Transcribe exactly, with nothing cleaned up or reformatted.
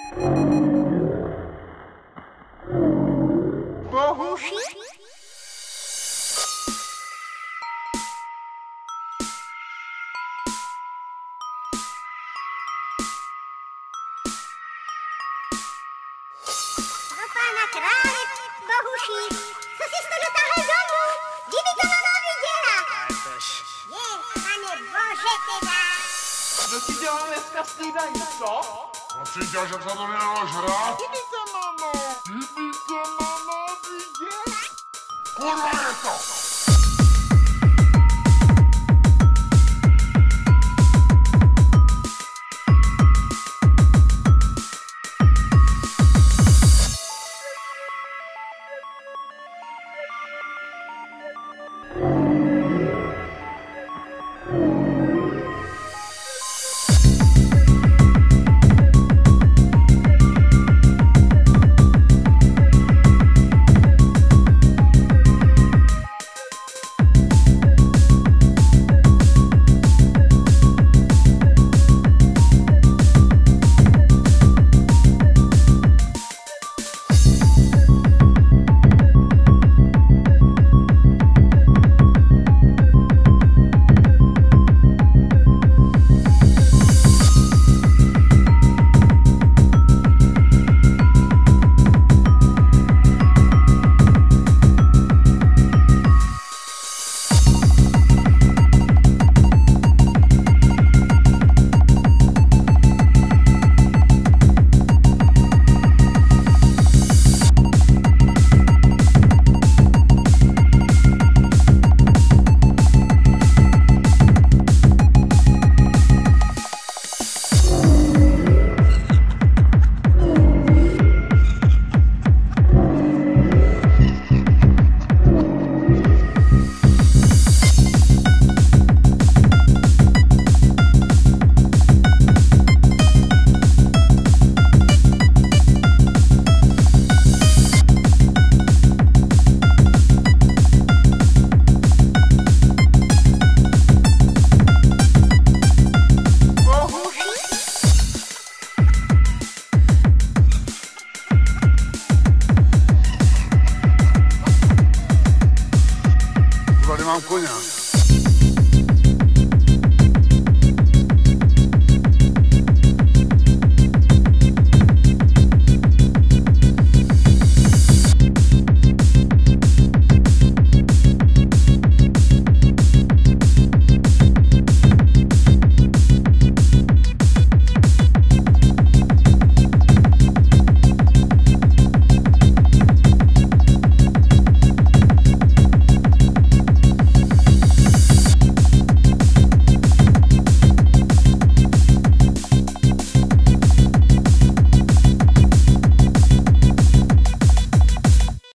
Bohuši? Pro pána krále, Bohuši, co jsi to dotáhl domů? Kdyby to mama viděla. Je, pane bože teda. Co ti dělal dneska snídaní, co? Prosím tě, že se to nedalo žrát? Kdyby to, mamo. Kdyby to mama viděla? Kurva je to!